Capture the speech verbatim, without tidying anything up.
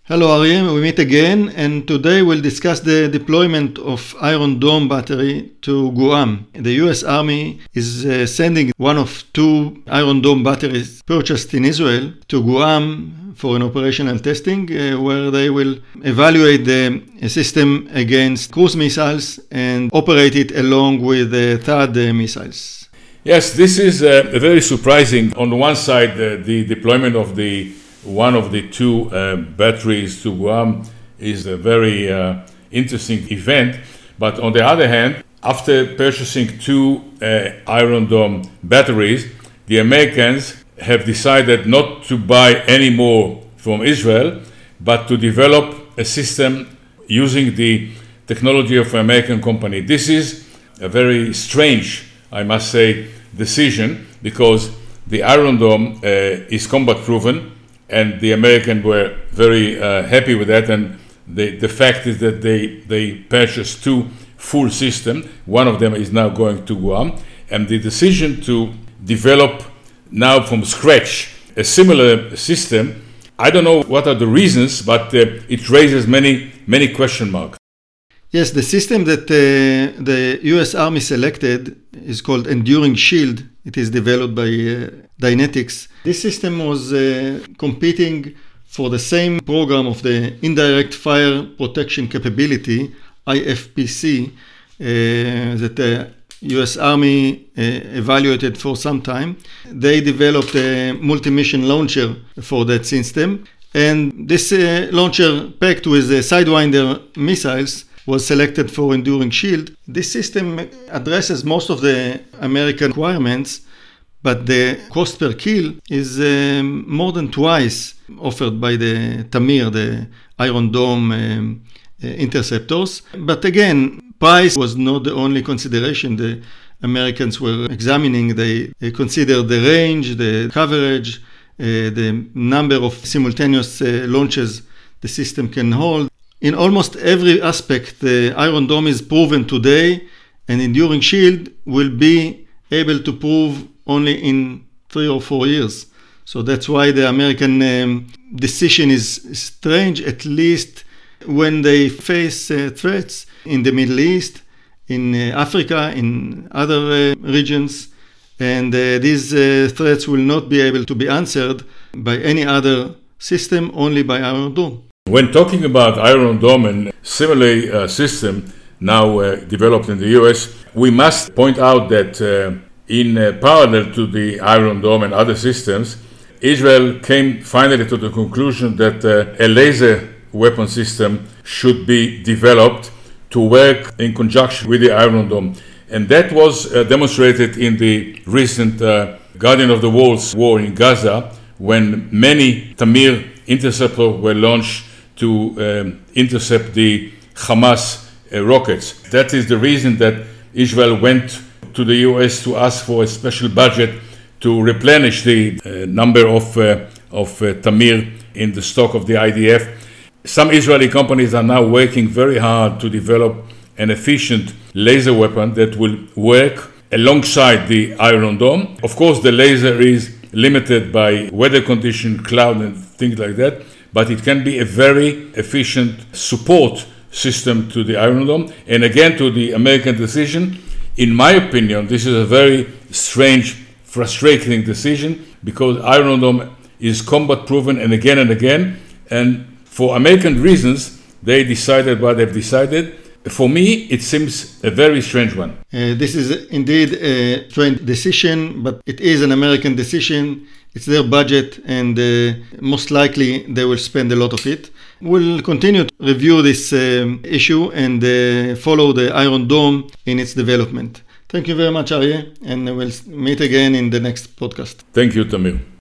Hello Aryeh, we meet again, and today we'll discuss the deployment of Iron Dome battery to Guam. The U S Army is uh, sending one of two Iron Dome batteries purchased in Israel to Guam for an operational testing, uh, where they will evaluate the system against cruise missiles and operate it along with the THAAD uh, missiles. Yes, this is uh, very surprising. On the one side, uh, the deployment of the one of the two uh, batteries to Guam is a very uh, interesting event. But on the other hand, after purchasing two uh, Iron Dome batteries, the Americans have decided not to buy any more from Israel, but to develop a system using the technology of an American company. This is a very strange, I must say, decision, because the Iron Dome uh, is combat proven, and the Americans were very uh, happy with that. And the, the fact is that they, they purchased two full systems. One of them is now going to Guam. And the decision to develop now from scratch a similar system, I don't know what are the reasons, but uh, it raises many, many question marks. Yes, the system that uh, the U S Army selected is called Enduring Shield. It is developed by uh, Dynetics. This system was uh, competing for the same program of the Indirect Fire Protection Capability, I F P C, uh, that the U S Army uh, evaluated for some time. They developed a multi-mission launcher for that system. And this uh, launcher, packed with uh, Sidewinder missiles, was selected for Enduring Shield. This system addresses most of the American requirements, but the cost per kill is um, more than twice offered by the Tamir, the Iron Dome um, uh, interceptors. But again, price was not the only consideration the Americans were examining. They, they considered the range, the coverage, uh, the number of simultaneous uh, launches the system can hold. In almost every aspect, the Iron Dome is proven today, and Enduring Shield will be able to prove only in three or four years. So that's why the American um, decision is strange, at least when they face uh, threats in the Middle East, in uh, Africa, in other uh, regions. And uh, these uh, threats will not be able to be answered by any other system, only by Iron Dome. When talking about Iron Dome and similar uh, system now uh, developed in the U S, we must point out that uh, in uh, parallel to the Iron Dome and other systems, Israel came finally to the conclusion that uh, a laser weapon system should be developed to work in conjunction with the Iron Dome. And that was uh, demonstrated in the recent uh, Guardian of the Walls war in Gaza, when many Tamir interceptors were launched to um, intercept the Hamas uh, rockets. That is the reason that Israel went to the U S to ask for a special budget to replenish the uh, number of, uh, of uh, Tamir in the stock of the I D F. Some Israeli companies are now working very hard to develop an efficient laser weapon that will work alongside the Iron Dome. Of course, the laser is limited by weather condition, cloud, and things like that, but it can be a very efficient support system to the Iron Dome. And again, to the American decision, in my opinion, this is a very strange, frustrating decision, because Iron Dome is combat proven, and again and again, and for American reasons, they decided what they've decided. For me, it seems a very strange one. Uh, this is indeed a strange decision, but it is an American decision. It's their budget, and uh, most likely they will spend a lot of it. We'll continue to review this um, issue and uh, follow the Iron Dome in its development. Thank you very much, Aryeh, and we'll meet again in the next podcast. Thank you, Tamir.